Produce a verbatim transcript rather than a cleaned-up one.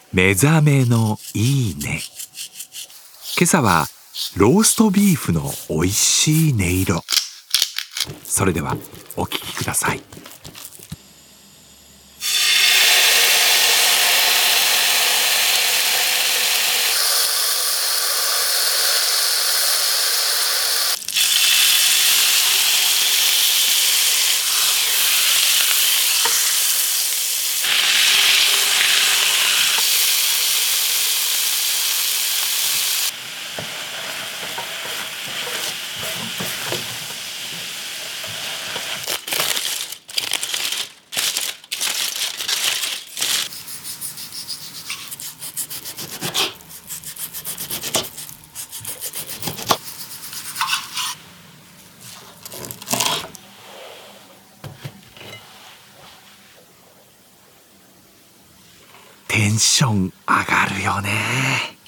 目覚めのいいね。今朝はローストビーフのおいしい音色。それではお聞きください。テンション上がるよね。